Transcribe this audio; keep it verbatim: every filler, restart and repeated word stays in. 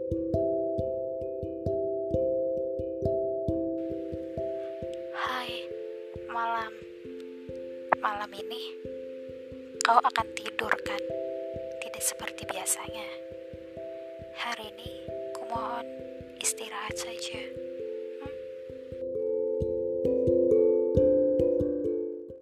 Hai, malam. Malam ini kau akan tidur kan? Tidak seperti biasanya. Hari ini kumohon istirahat saja.